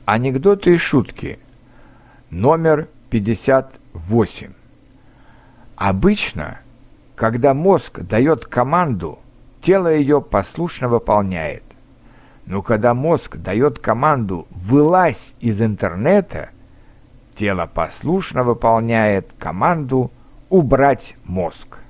Анекдоты и шутки. Номер 58. Обычно, когда мозг дает команду, тело ее послушно выполняет. Но когда мозг дает команду «вылазь из интернета», тело послушно выполняет команду «убрать мозг».